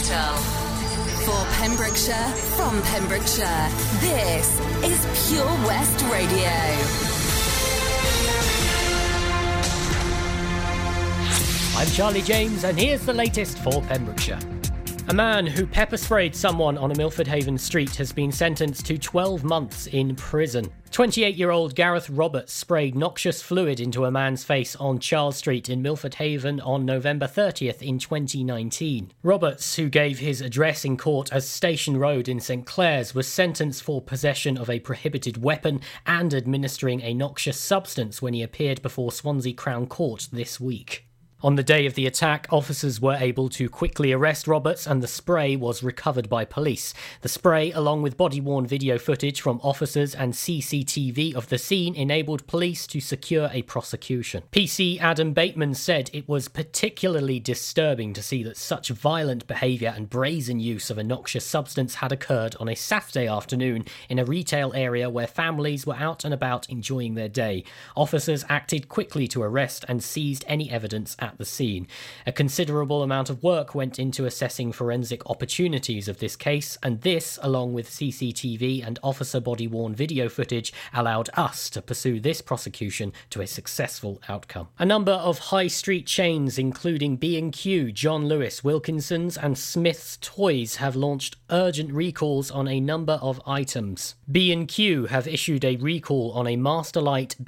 capital. For Pembrokeshire, from Pembrokeshire, this is Pure West Radio. I'm Charlie James, and here's the latest for Pembrokeshire. A man who pepper-sprayed someone on a Milford Haven street has been sentenced to 12 months in prison. 28-year-old Gareth Roberts sprayed noxious fluid into a man's face on Charles Street in Milford Haven on November 30th in 2019. Roberts, who gave his address in court as Station Road in St Clair's, was sentenced for possession of a prohibited weapon and administering a noxious substance when he appeared before Swansea Crown Court this week. On the day of the attack, officers were able to quickly arrest Roberts and the spray was recovered by police. The spray, along with body-worn video footage from officers and CCTV of the scene, enabled police to secure a prosecution. PC Adam Bateman said it was particularly disturbing to see that such violent behaviour and brazen use of a noxious substance had occurred on a Saturday afternoon in a retail area where families were out and about enjoying their day. Officers acted quickly to arrest and seized any evidence at the scene. A considerable amount of work went into assessing forensic opportunities of this case, and this, along with CCTV and officer body-worn video footage, allowed us to pursue this prosecution to a successful outcome. A number of high street chains, including B&Q, John Lewis, Wilkinson's and Smith's Toys, have launched urgent recalls on a number of items. B&Q have issued a recall on a Masterlight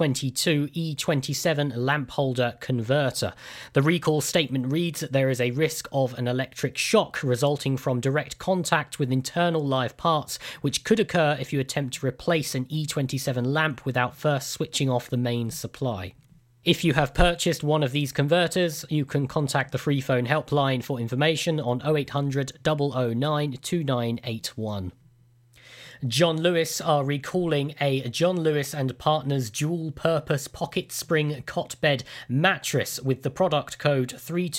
B22 E27 lamp holder converter. The recall statement reads that there is a risk of an electric shock resulting from direct contact with internal live parts, which could occur if you attempt to replace an E27 lamp without first switching off the main supply. If you have purchased one of these converters, you can contact the free phone helpline for information on 0800 009 2981. John Lewis are recalling a John Lewis and Partners dual-purpose pocket spring cot bed mattress with the product code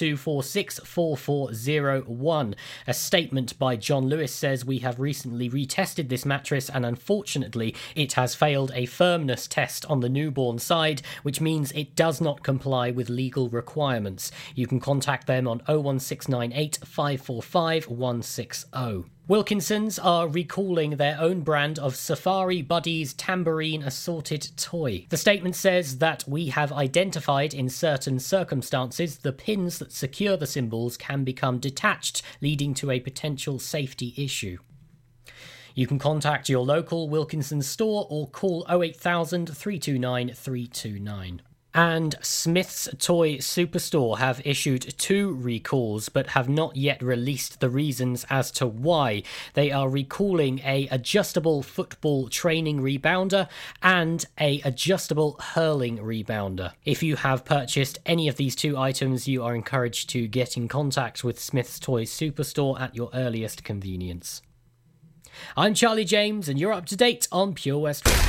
32464401. A statement by John Lewis says, "We have recently retested this mattress and unfortunately it has failed a firmness test on the newborn side, which means it does not comply with legal requirements. You can contact them on 01698 545 160. Wilkinson's are recalling their own brand of Safari Buddies tambourine assorted toy. The statement says that we have identified in certain circumstances the pins that secure the symbols can become detached, leading to a potential safety issue. You can contact your local Wilkinson's store or call 08000 329 329. And Smith's Toy Superstore have issued 2 recalls but have not yet released the reasons as to why. They are recalling a adjustable football training rebounder and a adjustable hurling rebounder. If you have purchased any of these 2 items, you are encouraged to get in contact with Smith's Toy Superstore at your earliest convenience. I'm Charlie James and you're up to date on Pure West Radio.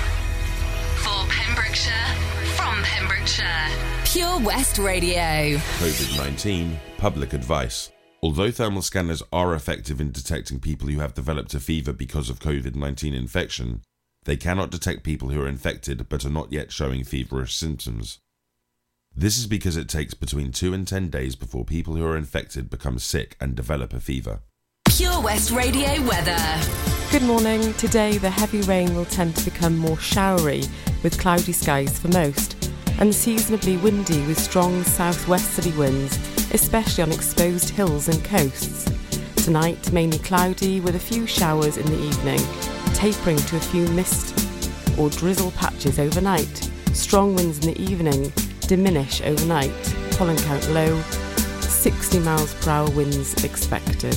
For Pembrokeshire, from Pembrokeshire, Pure West Radio. COVID-19 public advice. Although thermal scanners are effective in detecting people who have developed a fever because of COVID-19 infection, they cannot detect people who are infected but are not yet showing feverish symptoms. This is because it takes between 2 and 10 days before people who are infected become sick and develop a fever. Pure West Radio weather. Good morning. Today the heavy rain will tend to become more showery with cloudy skies for most, unseasonably windy with strong southwesterly winds, especially on exposed hills and coasts. Tonight mainly cloudy with a few showers in the evening, tapering to a few mist or drizzle patches overnight. Strong winds in the evening diminish overnight. Pollen count low, 60 miles per hour winds expected.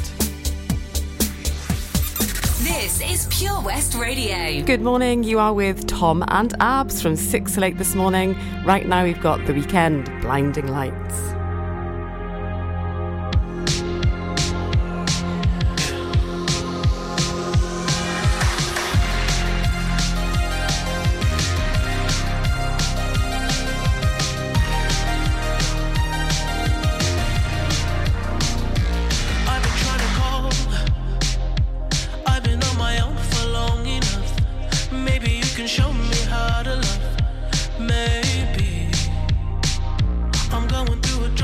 This is Pure West Radio. Good morning, you are with Tom and Abs from 6 till 8 this morning. Right now we've got The Weekend, Blinding Lights. I'm going through a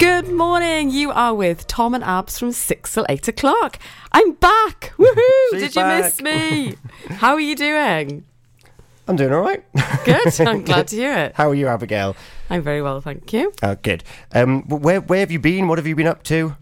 Good morning. You are with Tom and Abs from 6 till 8 o'clock. I'm back. Woohoo! Did you miss me? How are you doing? I'm doing all right. Good. I'm glad to hear it. How are you, Abigail? I'm very well, thank you. Oh, good. Where have you been? What have you been up to?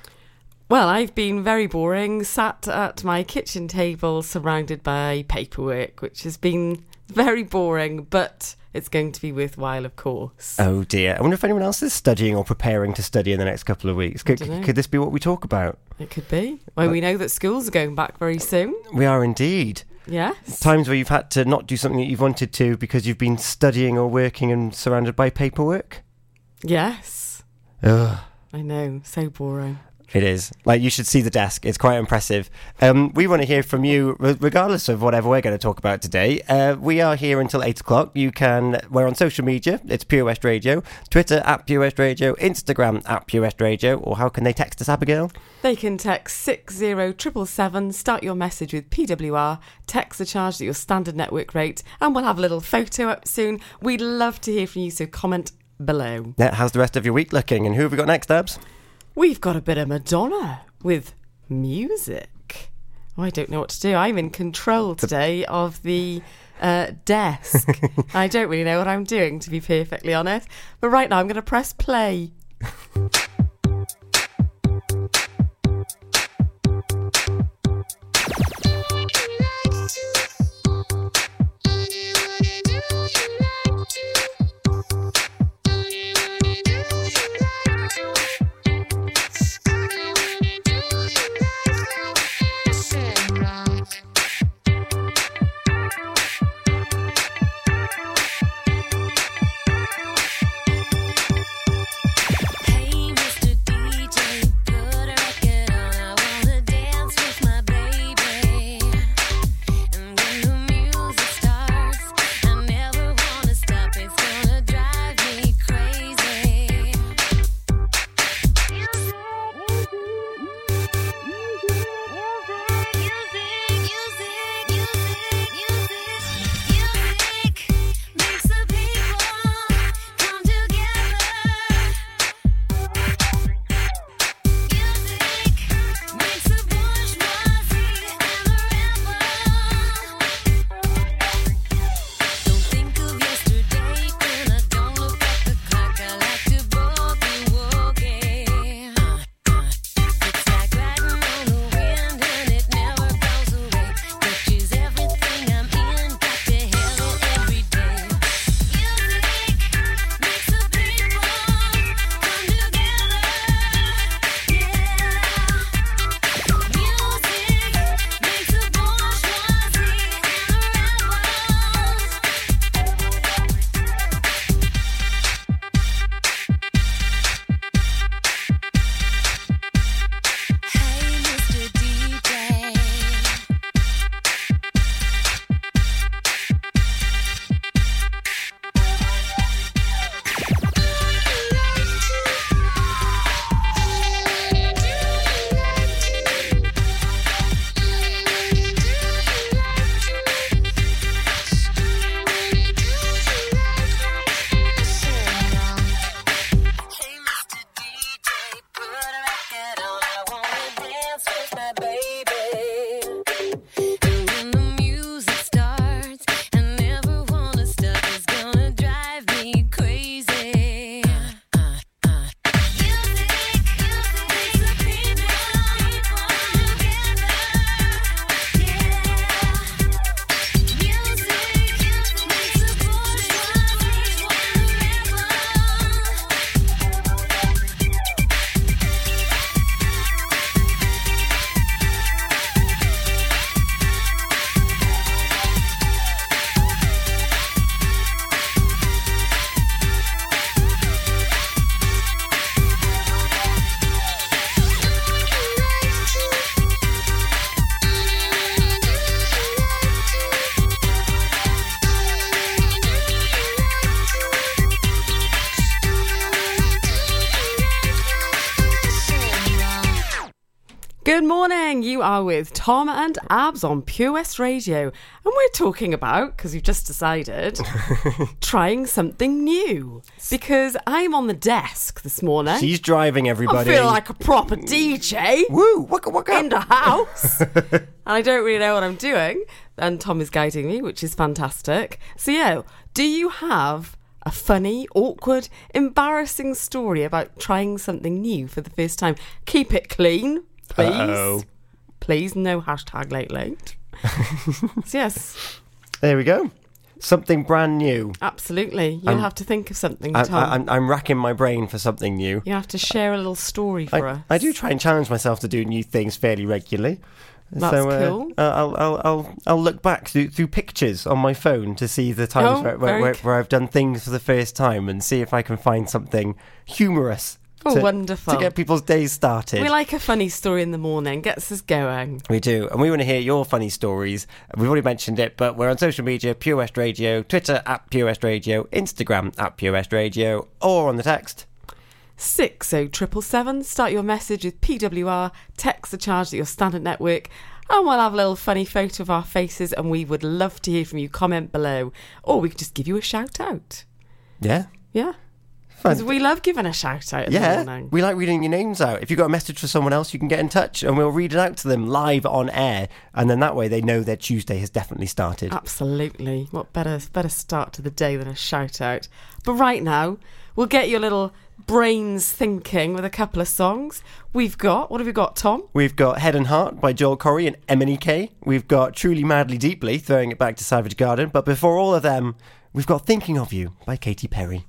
Well, I've been very boring, sat at my kitchen table surrounded by paperwork, which has been very boring, but it's going to be worthwhile, of course. Oh, dear. I wonder if anyone else is studying or preparing to study in the next couple of weeks. Could this be what we talk about? It could be. Well, we know that schools are going back very soon. We are indeed. Yes. Times where you've had to not do something that you've wanted to because you've been studying or working and surrounded by paperwork? Yes. Ugh. I know. So boring. It is. Like, you should see the desk. It's quite impressive. We want to hear from you, regardless of whatever we're going to talk about today. We are here until 8 o'clock. We're on social media. It's Pure West Radio. Twitter @Pure West Radio. Instagram @Pure West Radio. Or how can they text us, Abigail? They can text 60777, start your message with PWR, text the charge at your standard network rate, and we'll have a little photo up soon. We'd love to hear from you, so comment below. How's the rest of your week looking? And who have we got next, Abs? We've got a bit of Madonna with music. Oh, I don't know what to do. I'm in control today of the desk. I don't really know what I'm doing, to be perfectly honest. But right now I'm going to press play. Hey, Good morning. You are with Tom and Abs on Pure West Radio. And we're talking about, because we've just decided, trying something new. Because I'm on the desk this morning. She's driving everybody. I feel like a proper DJ. Woo! Waka waka. In the house. And I don't really know what I'm doing. And Tom is guiding me, which is fantastic. So, yeah, do you have a funny, awkward, embarrassing story about trying something new for the first time? Keep it clean, please. Uh-oh. Please, no hashtag late. So, yes. There we go. Something brand new. Absolutely. You'll have to think of something, Tom. I'm racking my brain for something new. You have to share a little story for us. I do try and challenge myself to do new things fairly regularly. That's cool. I'll look back through pictures on my phone to see the times where I've done things for the first time and see if I can find something humorous. Wonderful. To get people's days started. We like a funny story in the morning. Gets us going. We do. And we want to hear your funny stories. We've already mentioned it, but we're on social media, Pure West Radio, Twitter @Pure West Radio, Instagram @Pure West Radio, or on the text 60777. Start your message with PWR, text the charge at your standard network, and we'll have a little funny photo of our faces, and we would love to hear from you. Comment below, or we could just give you a shout out. Yeah. Because we love giving a shout out in the morning. We like reading your names out. If you've got a message for someone else, you can get in touch and we'll read it out to them live on air, and then that way they know their Tuesday has definitely started. Absolutely. What better start to the day than a shout out? But right now, we'll get your little brains thinking with a couple of songs. What have we got, Tom? We've got Head and Heart by Joel Corry and MNEK. We've got Truly Madly Deeply, throwing it back to Savage Garden. But before all of them, we've got Thinking of You by Katy Perry.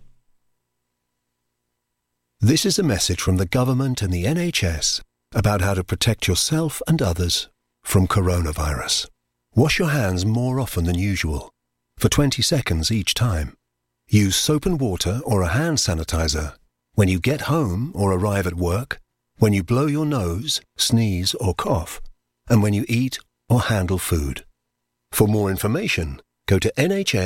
This is a message from the government and the NHS about how to protect yourself and others from coronavirus. Wash your hands more often than usual, for 20 seconds each time. Use soap and water or a hand sanitizer when you get home or arrive at work, when you blow your nose, sneeze or cough, and when you eat or handle food. For more information, go to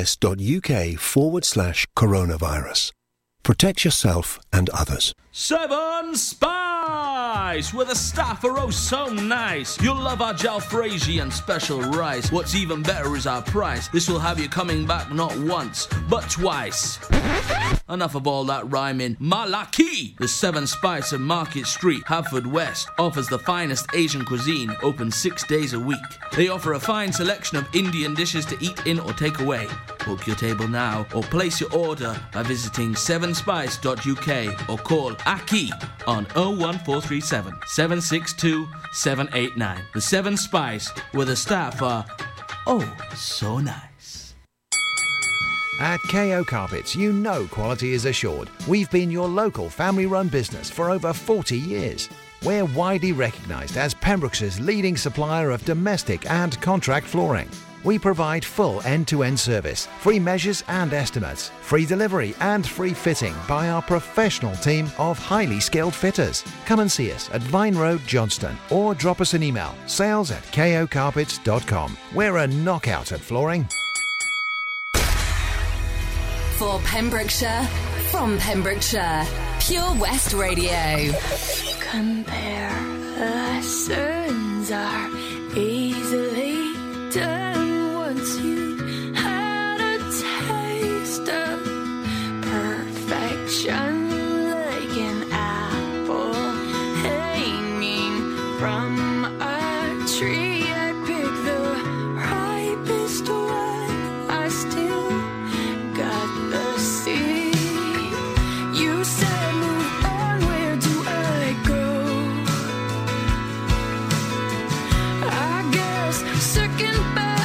nhs.uk/coronavirus. Protect yourself and others. 7 Spice, where the staff are oh so nice. You'll love our jalfrezi and special rice. What's even better is our price. This will have you coming back not once, but twice. Enough of all that rhyming. Malaki! The 7 Spice of Market Street, Haverfordwest, offers the finest Asian cuisine, open 6 days a week. They offer a fine selection of Indian dishes to eat in or take away. Book your table now or place your order by visiting 7spice.uk or call Aki on 01437 762 789. The 7 Spice, where the staff are oh so nice. At KO Carpets, you know quality is assured. We've been your local family-run business for over 40 years. We're widely recognised as Pembrokeshire's leading supplier of domestic and contract flooring. We provide full end-to-end service, free measures and estimates, free delivery and free fitting by our professional team of highly skilled fitters. Come and see us at Vine Road, Johnston, or drop us an email, sales@kocarpets.com. We're a knockout at flooring. For Pembrokeshire, from Pembrokeshire, Pure West Radio. Compare lessons are easily done once you had a taste of perfection, like an apple hanging from a tree. I pick the ripest one, I still got the seed. You said move on, where do I go? I guess second best.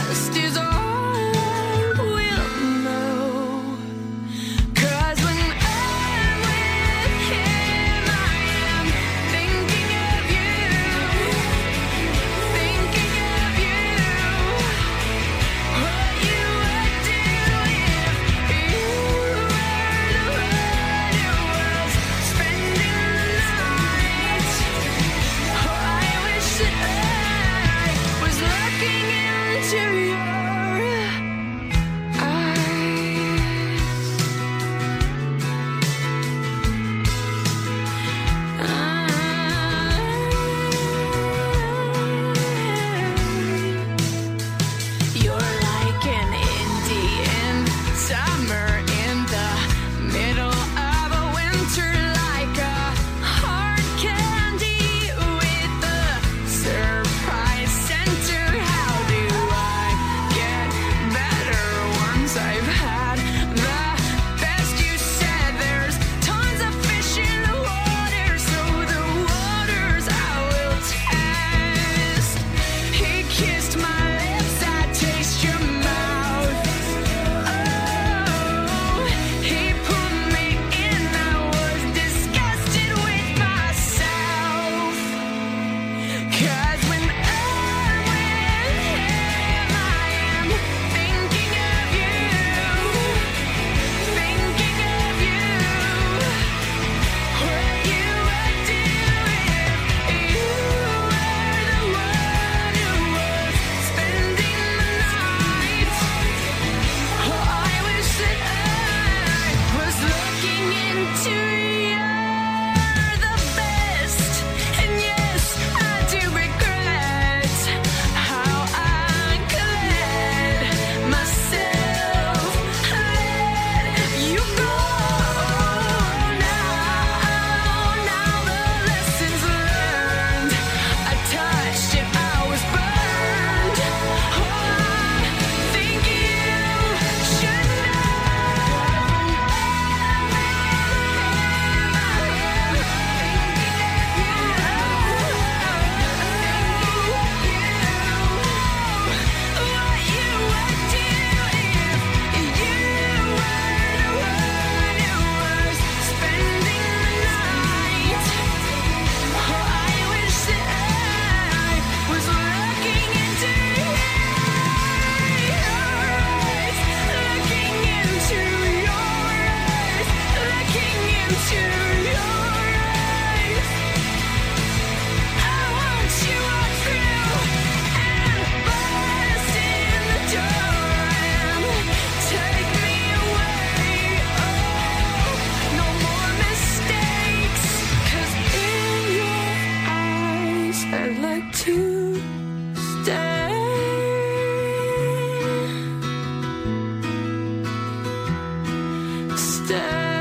stay.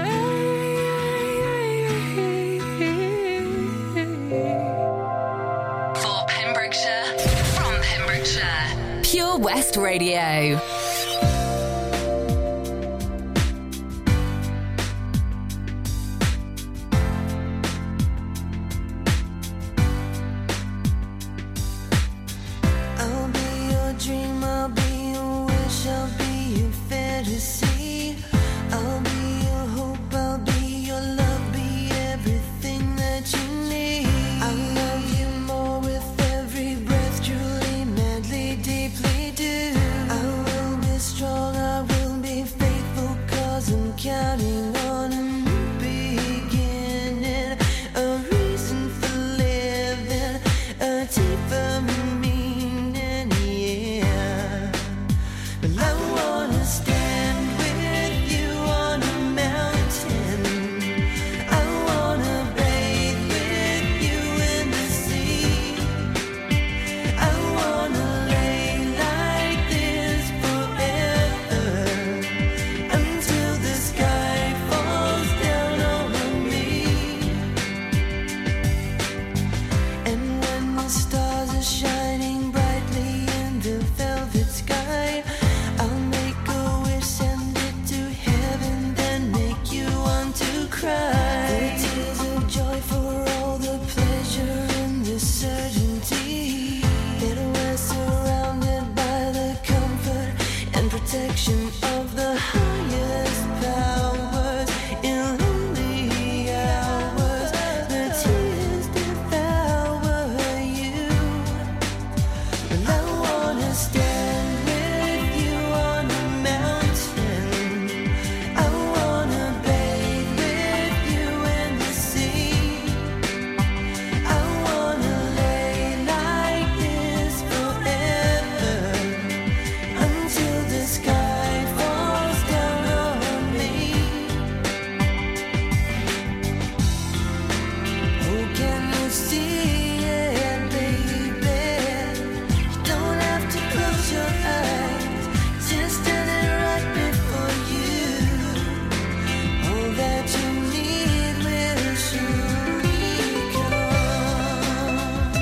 For Pembrokeshire, from Pembrokeshire, Pure West Radio. I'll be your dream, I'll be your wish, I'll be your fantasy. I'll be your hope, I'll be your love, be everything that you need. I love you more with every breath, truly, madly, deeply do. I will be strong, I will be faithful, 'cause I'm counting on a new beginning, a reason for living, a deeper meaning, yeah. Well, I wanna stand with you on a mountain. I wanna bathe with you in the sea. I wanna lay like this forever, until the sky falls down over me. And when the stars are shining brightly in the velvet sky, I'll make a wish, send it to heaven, then make you want to cry. The tears of joy for all the pleasure and the certainty that we're surrounded by the comfort and protection of the highest powers. In lonely hours, the tears devour you. And I wanna stand with you on a mountain. I wanna bathe with you in the sea. I wanna lay like this forever, until the sky falls down on me. Oh, can you see it, baby? You don't have to close your eyes, just standing right before you. All that you need will surely come.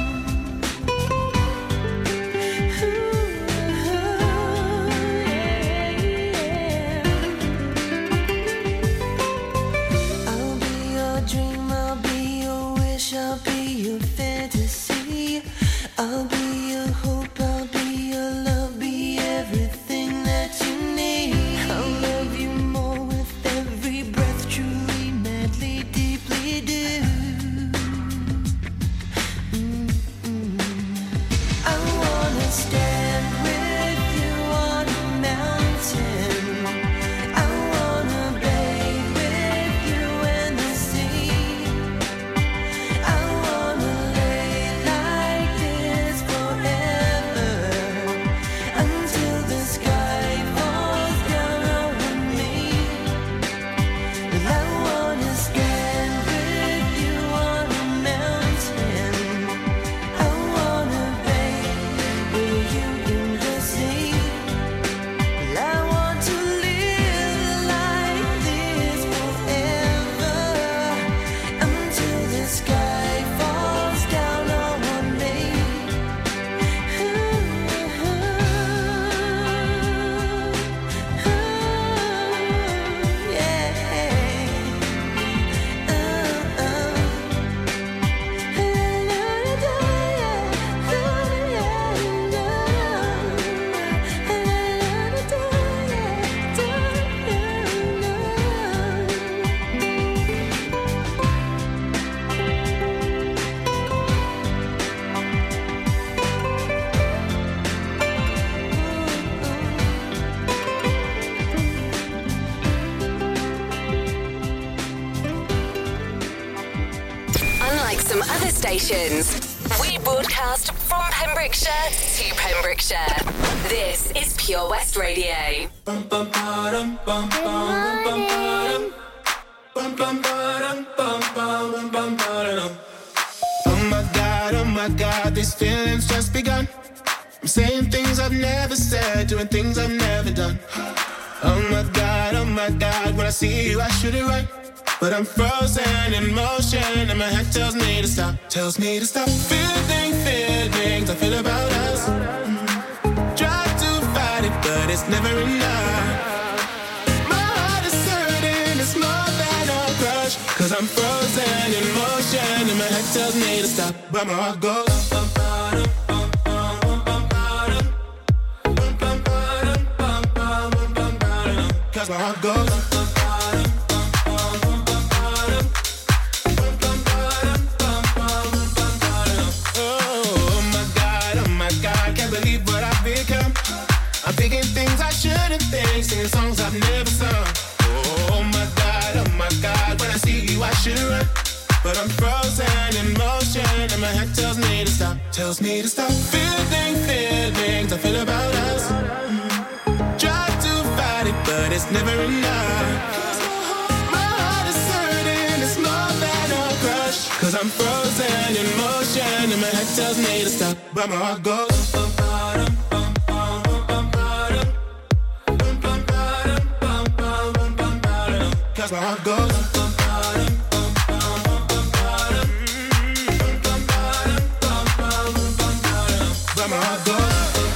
I'll be your dream, I'll be your wish, I'll be your fantasy. I'll be your hope, I'll be your love, be everything that you need. I'll love you more with every breath, truly, madly, deeply do. I wanna stand with you on a mountain. I wanna bathe with you in the sea. I wanna lay like this forever, until the sky falls down over me. And I wanna stand with you on a mountain. I wanna bathe with you in the sea. Well, I want to live like this forever, until the sky falls down on me. Unlike some other stations, we broadcast from Pembrokeshire to Pembrokeshire. This is Pure West Radio. Oh my God, these feelings just begun. I'm saying things I've never said, doing things I've never done. Oh my God, when when I see you, I shoot it right. But I'm frozen in motion, and my head tells me to stop. Tells me to stop. Feelings I feel about us. Try to fight it, but it's never enough. My heart is hurting, it's more than a crush. Cause I'm frozen in motion, and my head tells me to stop. But my heart goes. Cause my heart goes. I'm thinking things I shouldn't think, singing songs I've never sung. Oh my God, when I see you I should run. But I'm frozen in motion, and my head tells me to stop. Tells me to stop. Feelings I feel about us. Try to fight it, but it's never enough. My heart is hurting, it's more than a crush. Cause I'm frozen in motion, and my head tells me to stop. But my heart goes. Cause my heart goes. But my heart goes.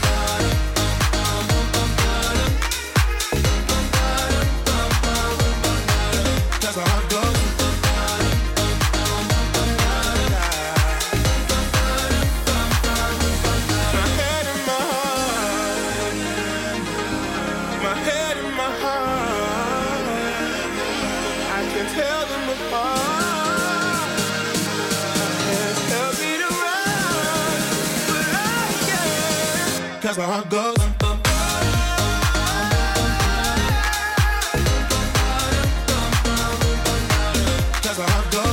Cause my heart goes. My head and my heart. My head and my heart. I can tell them apart. Hands tell me to run, but I can't. Cause my heart goes. Cause my heart goes.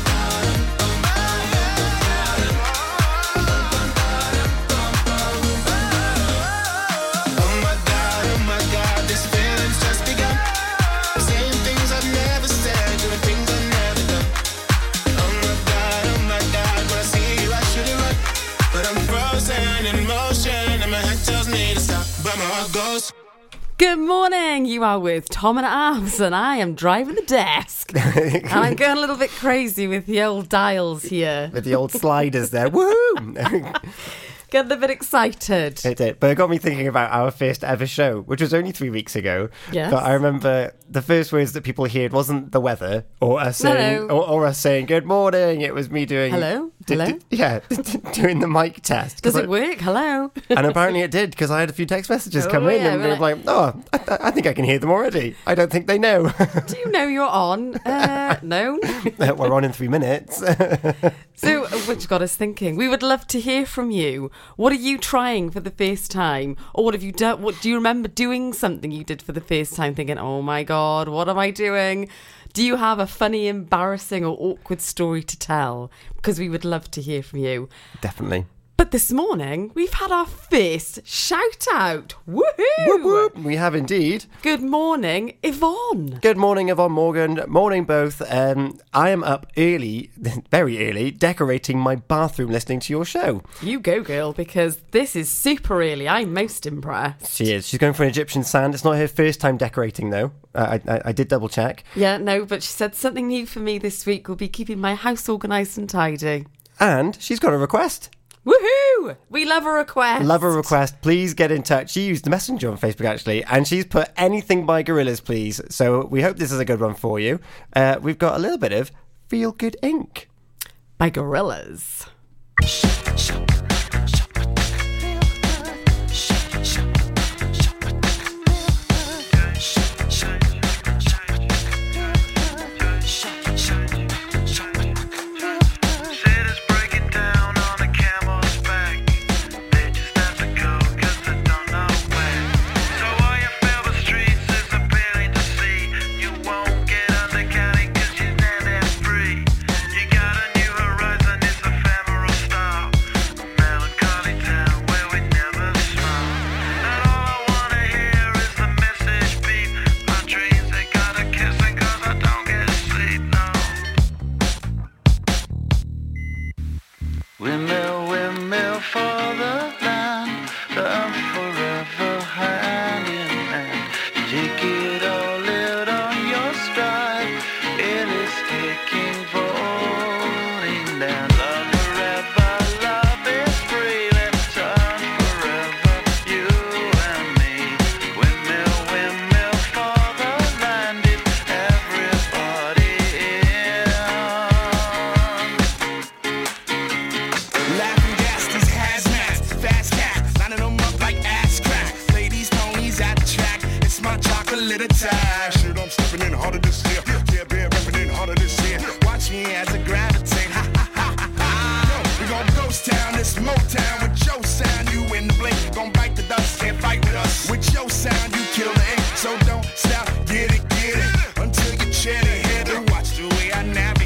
Oh my God, this feeling's just begun. Saying things I've never said, doing things I've never done. Oh my God, when I see you I should it right. But I'm frozen in motion, and my head tells me to stop. But my heart goes. Good morning, you are with Tom and Abs, and I am driving the desk. And I'm going a little bit crazy with the old dials here. With the old sliders there. Woohoo! Getting a bit excited. It did. But it got me thinking about our first ever show, which was only 3 weeks ago. Yes. But I remember the first words that people heard wasn't the weather or us saying, No. or us saying good morning. It was me doing Hello? Hello? doing the mic test. Does it work? Hello? And apparently it did, because I had a few text messages Oh, come in, yeah, and we're they were like, "Oh, I think I can hear them already. I don't think they know." Do you know you're on? No. We're on in 3 minutes. So, which got us thinking. We would love to hear from you. What are you trying for the first time? Or what have you done? What do you remember doing something you did for the first time thinking, oh my God, what am I doing? Do you have a funny, embarrassing or awkward story to tell? Because we would love to hear from you. Definitely. But this morning, we've had our first shout out. Woohoo! Whoop, whoop. We have indeed. Good morning, Yvonne. Good morning, Yvonne Morgan. Morning, both. I am up early, very early, decorating my bathroom listening to your show. You go, girl, because this is super early. I'm most impressed. She is. She's going for an Egyptian sand. It's not her first time decorating, though. I did double check. Yeah, no, but she said something new for me this week will be keeping my house organised and tidy. And she's got a request. Woohoo! We love a request. Love a request. Please get in touch. She used the messenger on Facebook, actually, and she's put anything by Gorillaz, please. So we hope this is a good one for you. We've got a little bit of Feel Good Inc. by Gorillaz. You got a new horizon, it's ephemeral style. a little time. Shit, I'm stepping in harder this year. Yeah, been rapping in harder this year. Watch me as I gravitate. Ha ha ha ha ha. We gon' ghost town, this Motown with your sound. You in the blink, gon' bite the dust, can't fight with us. With your sound, you kill the ink, so don't stop, get it, until you chat it, hit it. Watch the way I navigate.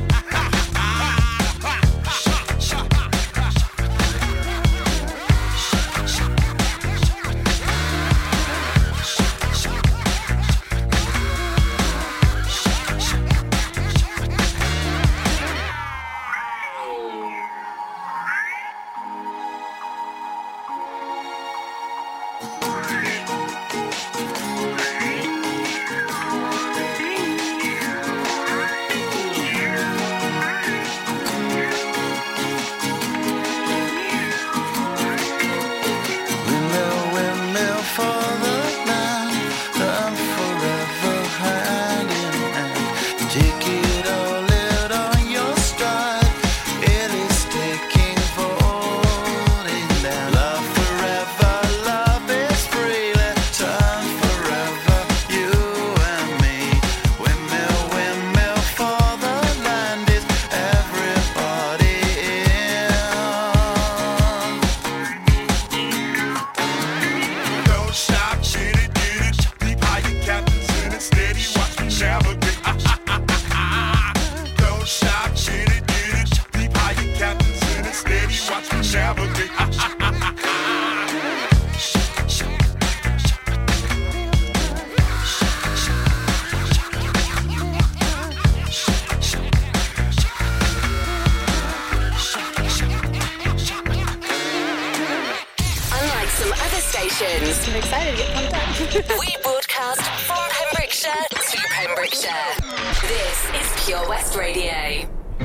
I'm excited to get pumped up. We broadcast from Pembrokeshire to Pembrokeshire. This is Pure West Radio.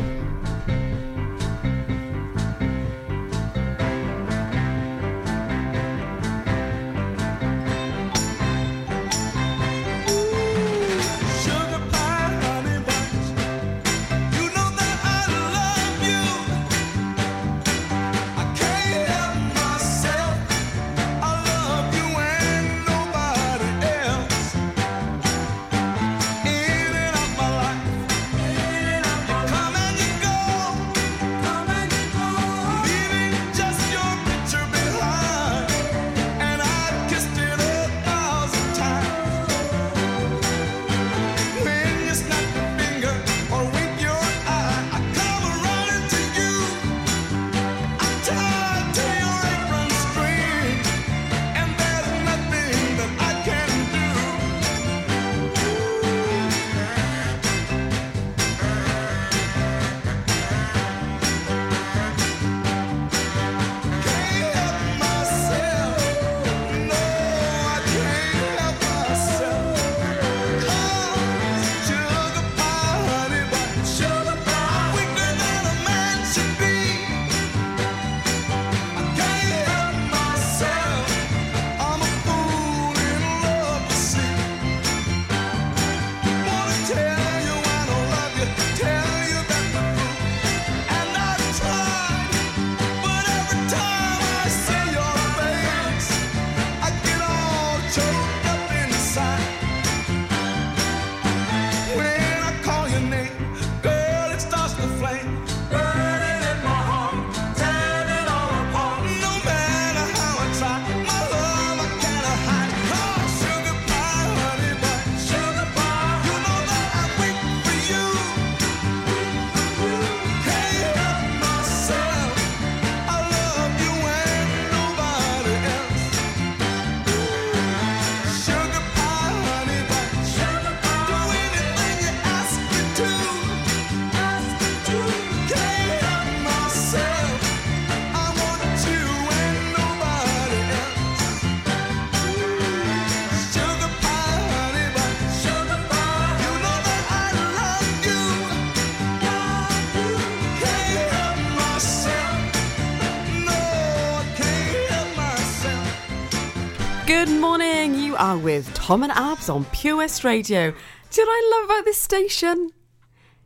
Good morning, you are with Tom and Abs on Pure West Radio. Do you know what I love about this station?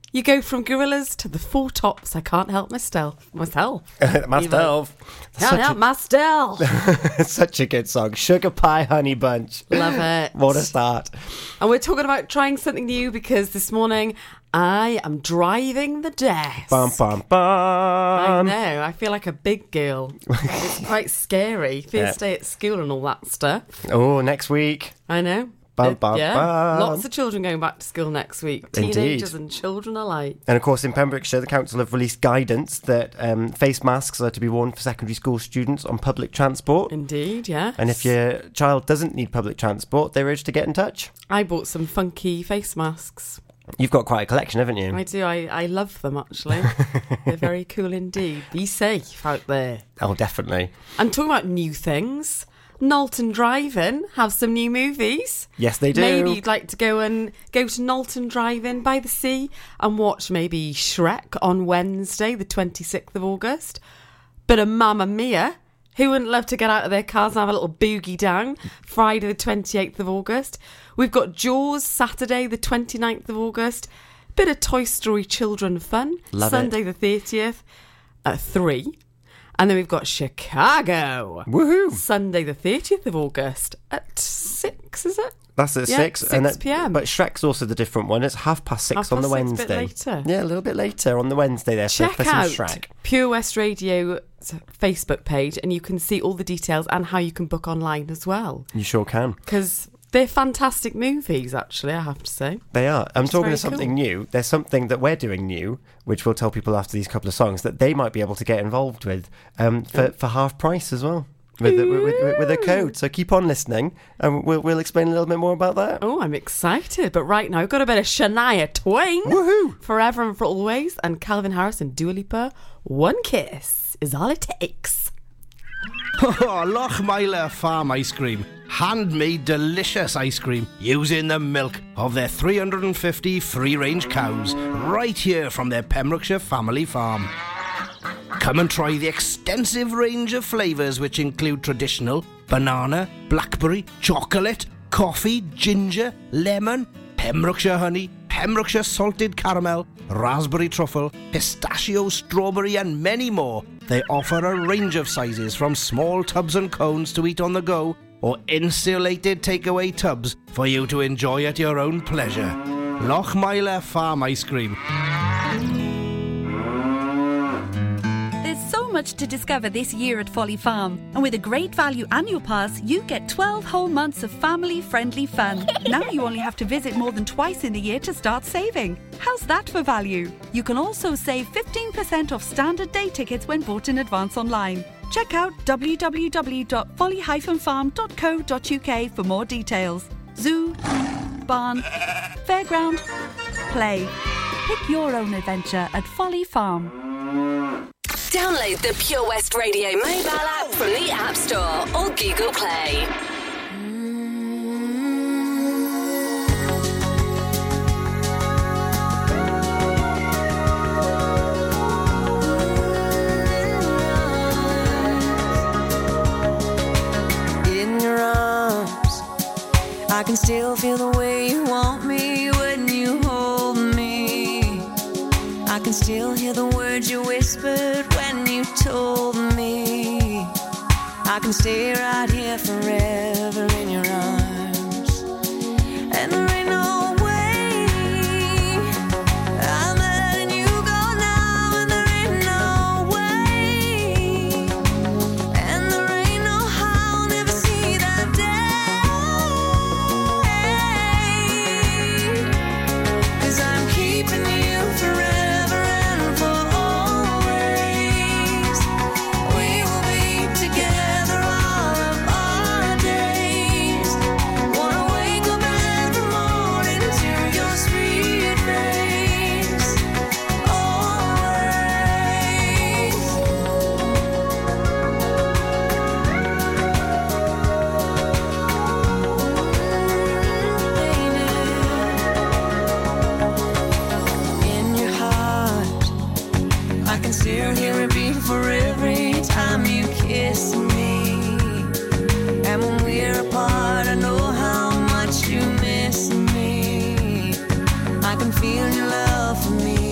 You go from Gorillaz to the Four Tops. I can't help myself. Myself. Can't help myself. Such a good song. Sugar Pie Honey Bunch. Love it. What a start. And we're talking about trying something new because this morning I am driving the desk. Bum, bum, bum. I know. I feel like a big girl. It's quite scary. First day at school and all that stuff. Oh, next week. I know. Bum, bum, yeah, bum. lots of children going back to school next week. Indeed. Teenagers and children alike. And of course, in Pembrokeshire, the council have released guidance that face masks are to be worn for secondary school students on public transport. Indeed, yeah. And if your child doesn't need public transport, they're urged to get in touch. I bought some funky face masks. You've got quite a collection, haven't you? I do. I love them, actually. They're very cool indeed. Be safe out there. Oh, definitely. And talking about new things, Knowlton Drive-In have some new movies. Yes, they do. Maybe you'd like to go to Knowlton Drive-In by the sea and watch maybe Shrek on Wednesday, the 26th of August. Bit of Mamma Mia. Who wouldn't love to get out of their cars and have a little boogie down? Friday the 28th of August. We've got Jaws Saturday the 29th of August. Bit of Toy Story children fun. Love Sunday the 30th at 3. And then we've got Chicago. Woohoo! Sunday the 30th of August at 6, is it? That's at 6. 6 p.m. But Shrek's also the different one. It's 6:30 on the 6:30, Wednesday. a bit later. Yeah, a little bit later on the Wednesday there Check for some out Shrek. Pure West Radio's Facebook page and you can see all the details and how you can book online as well. You sure can. Because they're fantastic movies, actually, I have to say. They are. I'm It's talking very of something cool. new. There's something that we're doing new, which we'll tell people after these couple of songs, that they might be able to get involved with for half price as well. With a code. So keep on listening and we'll explain a little bit more about that. Oh, I'm excited. But right now, I've got a bit of Shania Twain. Woohoo! Forever and for Always. And Calvin Harris and Dua Lipa. One kiss is all it takes. Oh, Lochmeyler Farm Ice Cream. Handmade delicious ice cream using the milk of their 350 free-range cows right here from their Pembrokeshire family farm. Come and try the extensive range of flavours which include traditional, banana, blackberry, chocolate, coffee, ginger, lemon, Pembrokeshire honey, Pembrokeshire salted caramel, raspberry truffle, pistachio, strawberry and many more. They offer a range of sizes from small tubs and cones to eat on the go or insulated takeaway tubs for you to enjoy at your own pleasure. Lochmeyler Farm Ice Cream. There's so much to discover this year at Folly Farm. And with a great value annual pass, you get 12 whole months of family-friendly fun. Now you only have to visit more than twice in the year to start saving. How's that for value? You can also save 15% off standard day tickets when bought in advance online. Check out www.folly-farm.co.uk for more details. Zoo, barn, fairground, play. Pick your own adventure at Folly Farm. Download the Pure West Radio mobile app from the App Store or Google Play. In your arms, I can still feel the way you want me when you hold me. I can still hear the words you whispered when you told me. I can stay right here forever in your arms. And there ain't no way I'm letting you go now. And there ain't no way. And there ain't no how I'll never see that day. 'Cause I'm keeping you forever and for always. We will be together all of our days. Wanna wake up every morning to your sweet face. Always. In your heart, I can still hear it beat for every time you kiss me. And when we're apart, I know how much you miss me. I can feel your love for me.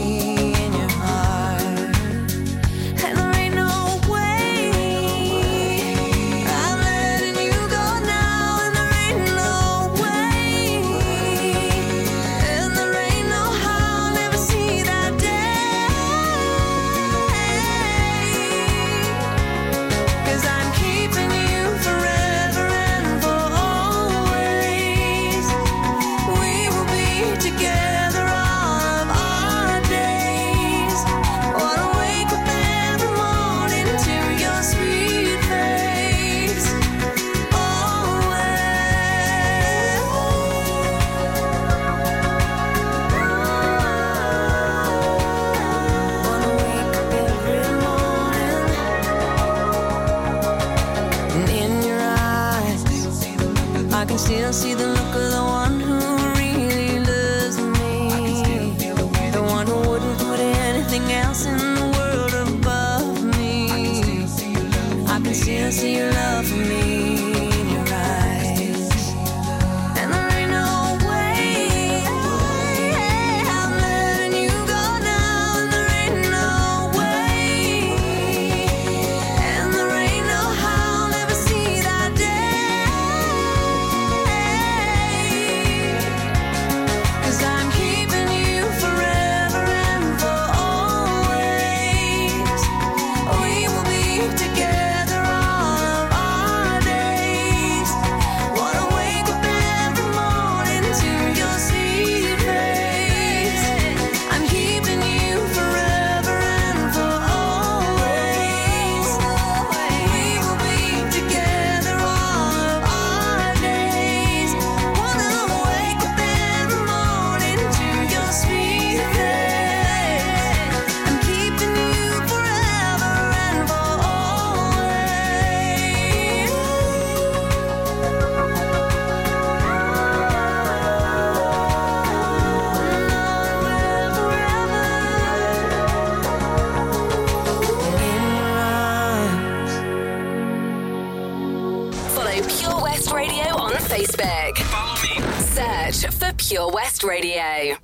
for Pure West Radio.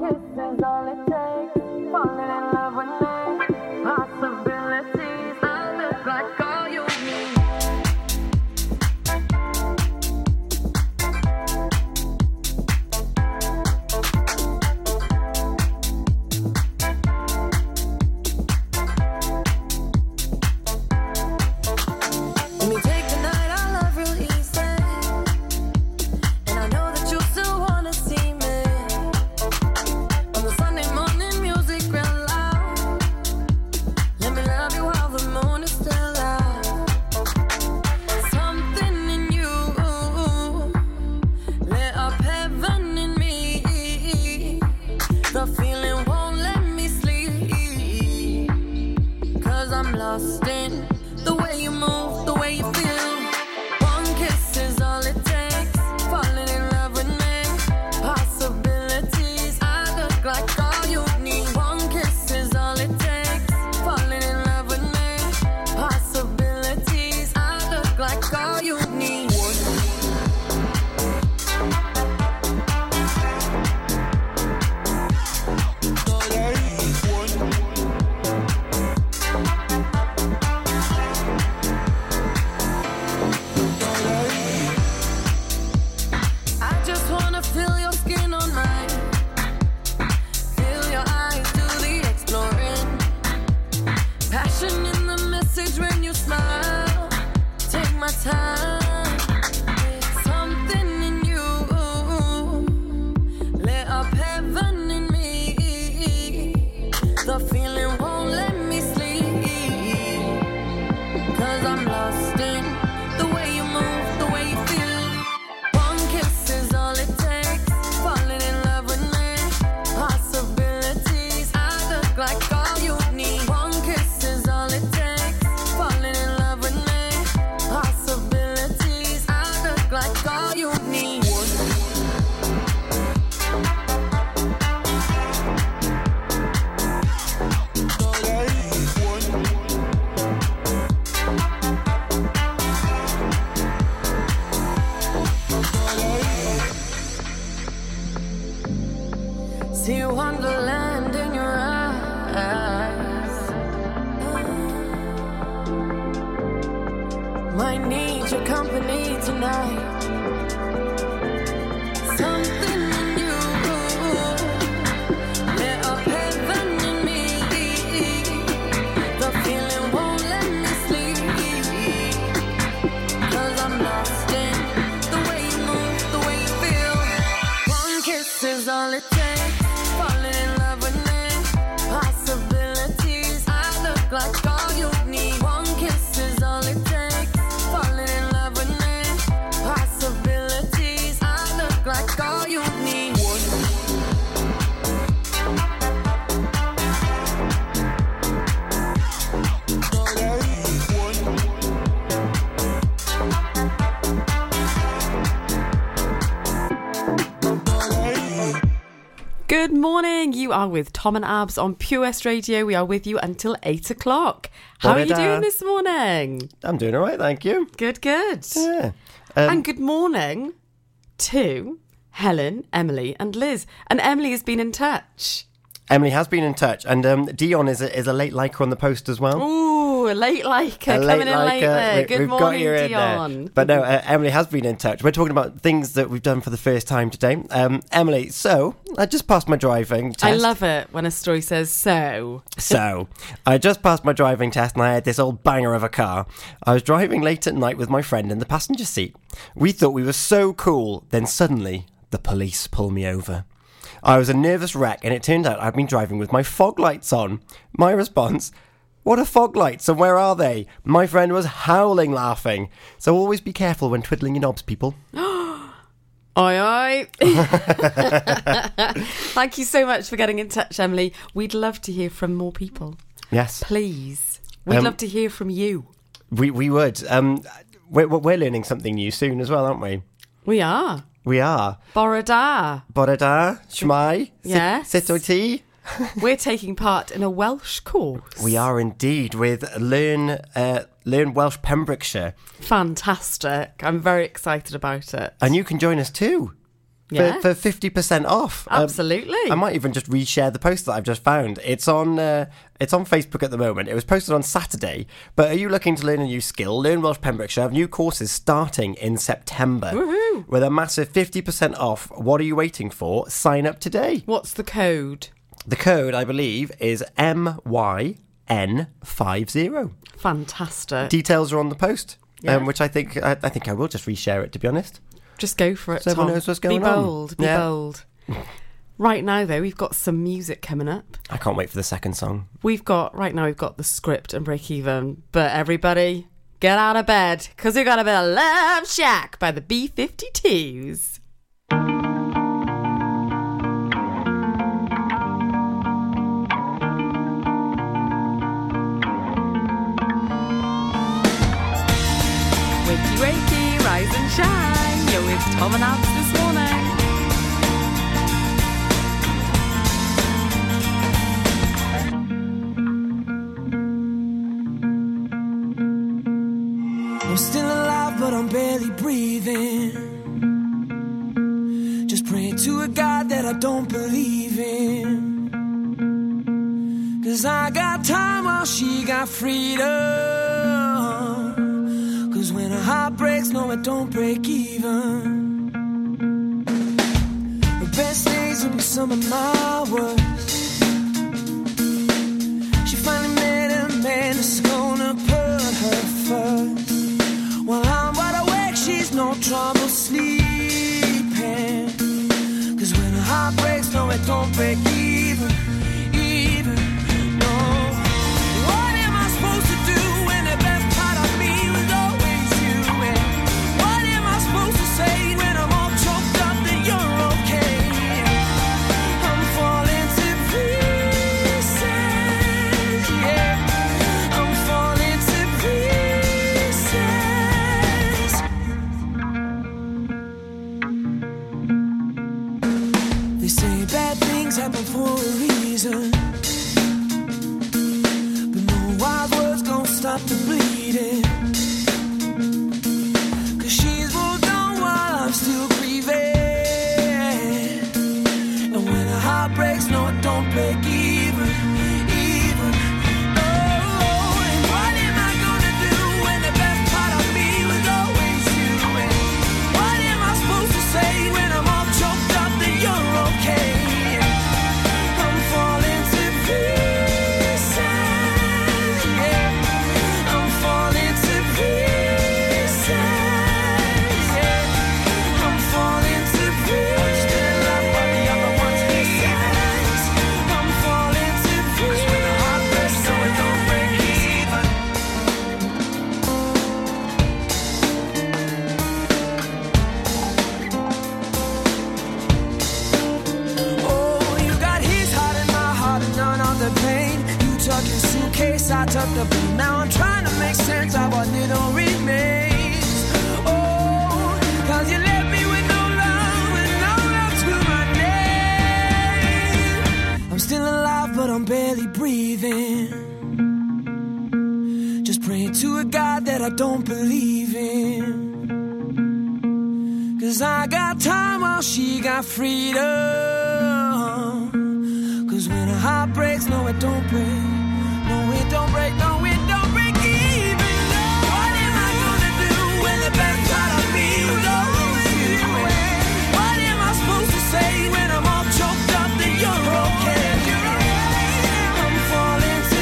See wonderland in your eyes. Might need your company tonight. Something in you lit up heaven in me. The feeling won't let me sleep, 'cause I'm lost in the way you move, the way you feel. One kiss is all it takes. Falling in love with me. Possibilities. I look like all you need. One kiss is all it takes. Falling in love with me. Possibilities. I look like all you need. Good morning. You are with Tom and Abs on Pure West Radio. We are with you until 8 o'clock. How are you doing this morning? I'm doing all right, thank you. Good, good. Yeah. And good morning to Helen, Emily and Liz. And Emily has been in touch. Emily has been in touch, and Dion is a late liker on the post as well. Ooh, a late liker coming in late there. Good morning, Dion. But no, Emily has been in touch. We're talking about things that we've done for the first time today. Emily, so I just passed my driving test. I love it when a story says so. So, I just passed my driving test and I had this old banger of a car. I was driving late at night with my friend in the passenger seat. We thought we were so cool, then suddenly the police pull me over. I was a nervous wreck, and it turned out I'd been driving with my fog lights on. My response, what are fog lights and where are they? My friend was howling laughing. So always be careful when twiddling your knobs, people. Aye, aye. Thank you so much for getting in touch, Emily. We'd love to hear from more people. Yes. Please. We'd love to hear from you. We would. We're learning something new soon as well, aren't we? We are. We are. Borada. Borada, Shmai, Yes. Sitoti. We're taking part in a Welsh course. We are indeed with Learn Welsh Pembrokeshire. Fantastic. I'm very excited about it. And you can join us too. Yeah. for 50% off. Absolutely. I might even just reshare the post that I've just found. It's on Facebook at the moment. It was posted on Saturday. But are you looking to learn a new skill? Learn Welsh Pembrokeshire have new courses starting in September. Woohoo. With a massive 50% off. What are you waiting for? Sign up today. What's the code? The code, I believe, is MYN50. Fantastic. Details are on the post, Yeah. which I think I will just reshare it, to be honest. Just go for it, So everyone Tom. knows what's going be on. bold. Be Yeah. bold. Right now, though, we've got some music coming up. I can't wait for the second song. We've got the script and break even. But everybody, get out of bed, because we've got a bit of Love Shack by the B-52s. Wakey, wakey, rise and shine. Yo, it's Tom and Abs this morning. I'm still alive, but I'm barely breathing. Just praying to a God that I don't believe in. 'Cause I got time while she got freedom. 'Cause when a heart breaks, no, it don't break even. The best days will be some of my worst. She finally met a man that's gonna put her first. While I'm wide awake, she's no trouble sleeping. 'Cause when a heart breaks, no, it don't break even. No. What am I supposed to do when the best part of me was always you? And what am I supposed to say when I'm all choked up that you're okay? I'm falling to pieces, yeah. I'm falling to pieces. They say bad things happen for a reason, but no wild words gon' stop the bleeding. 'Cause she's moved on while I'm still grieving. And when a heart breaks, no, it don't break even. Oh, and what am I gonna do when the best part of me was always you? And what am I supposed to say when I'm all choked up that you're okay? I'm falling to pieces, yeah. I'm falling to pieces, yeah. I'm falling to pieces. Still love what the other ones miss. I'm falling to pieces. When the heart breaks, so it don't break even. Oh, you got his heart and my heart and none of the pain. You took your suitcase, I took the blame. Now I'm trying to make sense of what little remains. Oh, 'cause you left me with no love and no love to my name. I'm still alive, but I'm barely breathing. Just praying to a God that I don't believe in. 'Cause I got time while she got freedom. 'Cause when a heart breaks, no, it don't break. No, it don't break, no, it don't break even. No. What am I gonna do when the best part of me was always you? What am I supposed to say when I'm all choked up that you're okay? I'm falling to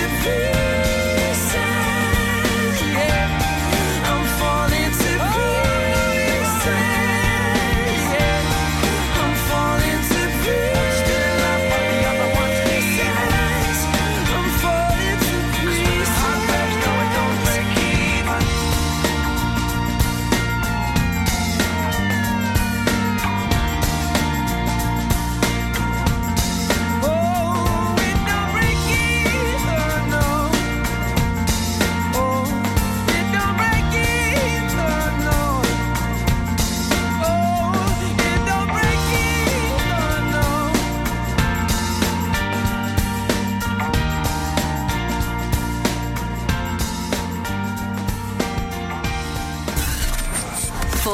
pieces, yeah. I'm falling to pieces, yeah. I'm falling to pieces. Still love what the other ones miss. I'm falling to pieces.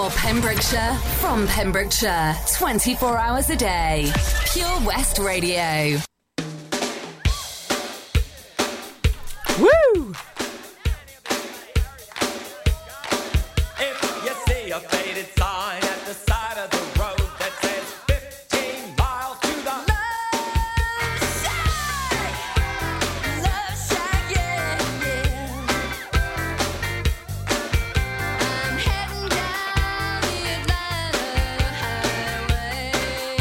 For Pembrokeshire, from Pembrokeshire, 24 hours a day. Pure West Radio. Woo! If you see a faded sign at the side of the road that says 15 miles to the Love Shack, yeah, yeah. I'm heading down the Atlanta highway,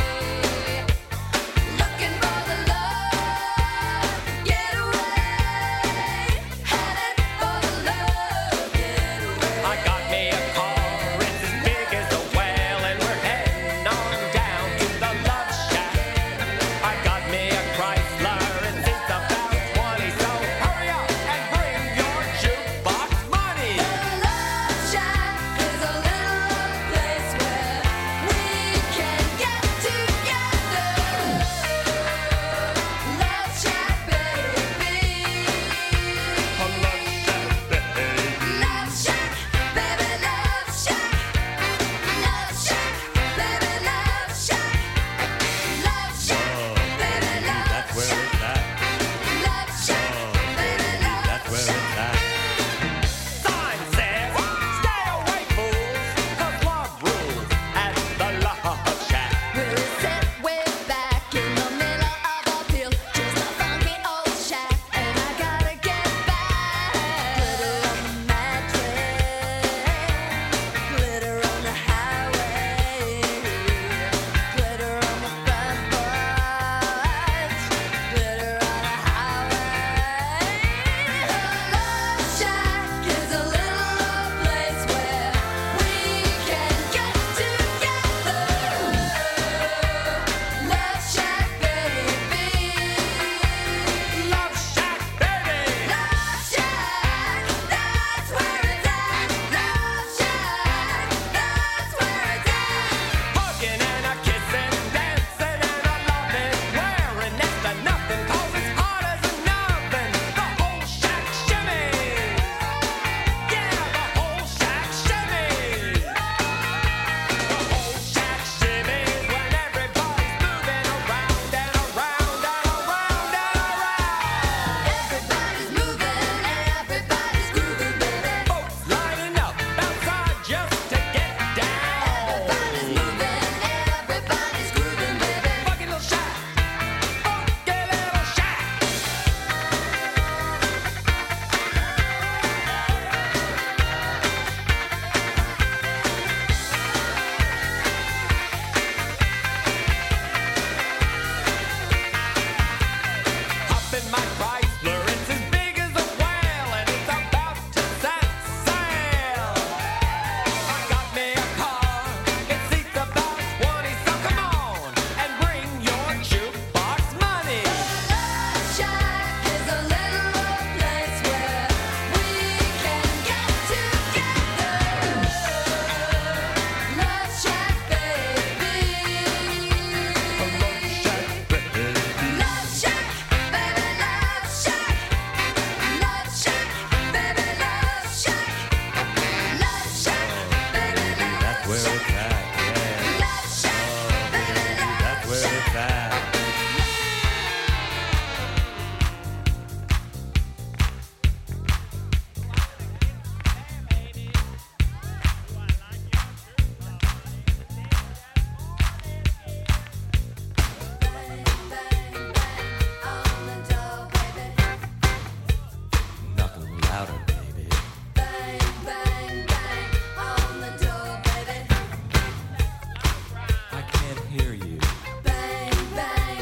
looking for the love getaway, headed for the love getaway. I got me a car, it's as big as a whale, and we're heading on down to the Love Shack. I got me a Chrysler, it seats about 20, so hurry up and bring your jukebox money. Love Shack is a little place where we can get together. Love Shack, baby. Love Shack, baby, Love Shack. Love Shack, baby, Love Shack. Love Shack, baby, Love That's where it's at. Love Shack, baby, Love That's where it's at. Sign says, stay away, fools, 'cause love rules at the Love Shack. We'll sit way back in the middle of a field, just a funky old shack, and I gotta get back. Glitter on the mattress, glitter on the highway, glitter on the front porch, glitter on the highway. Love Shack is a little place where we can get together. Love Shack, baby. Love Shack, baby. Love Shack, that's where it's at. Love Shack, that's where it's at. Hugging and a kissing, dancing and a loving, wearing next to nothing, 'cause it's hard as an oven. The whole shack shimmies. Yeah, the whole shack shimmies. The whole shack shimmies when everybody's moving around and around and around and around. Everybody's moving, everybody's grooving, baby. Folks lining up outside just to get down. Everybody's moving, everybody's grooving, baby. Funky little shack. Funky little shack. Hop in my Chrysler, it's as big as a whale, and it's about to set sail. I got me a car, it seats about 20, so come on and bring your jukebox money. Love Shack is a little place where we can get together. Love Shack, baby. Love Shack, baby, Love Shack. Love Shack, baby, Love Shack. Love Shack, baby, Love That's where it's at, yeah. Love Shack, baby, Love That's where it's at. Nothing louder, baby. Bang, bang, bang on the door, baby. I can't hear you. Bang, bang,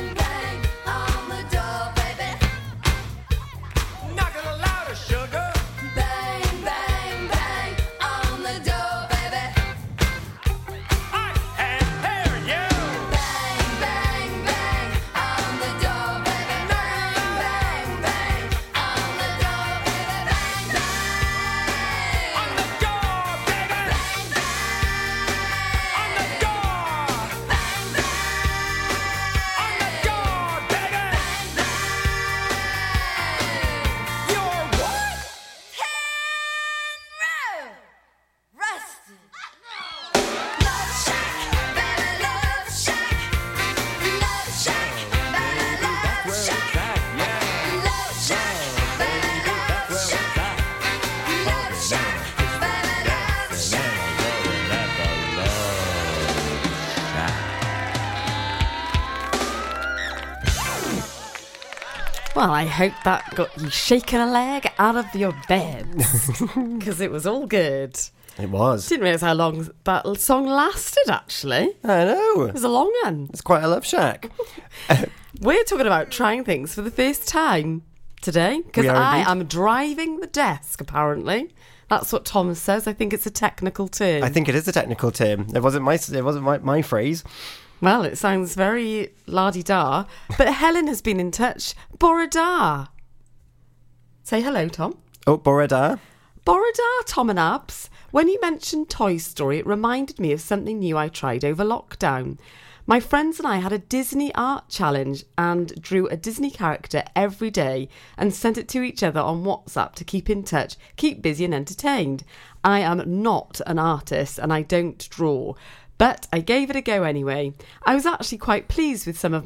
Well, I hope that got you shaking a leg out of your bed, because it was all good. It was. Didn't realise how long that song lasted, actually. I know. It was a long one. It's quite a love shack. We're talking about trying things for the first time today, because We are I indeed. am driving the desk, apparently. That's what Tom says. I think it's a technical term. I think it is a technical term. It wasn't my phrase. Well, it sounds very la-di-da, but Helen has been in touch. Borada. Say hello, Tom. Oh, Borada. Borada, Tom and Abs. When you mentioned Toy Story, it reminded me of something new I tried over lockdown. My friends and I had a Disney art challenge and drew a Disney character every day and sent it to each other on WhatsApp to keep in touch, keep busy and entertained. I am not an artist and I don't draw, but I gave it a go anyway. I was actually quite pleased with some of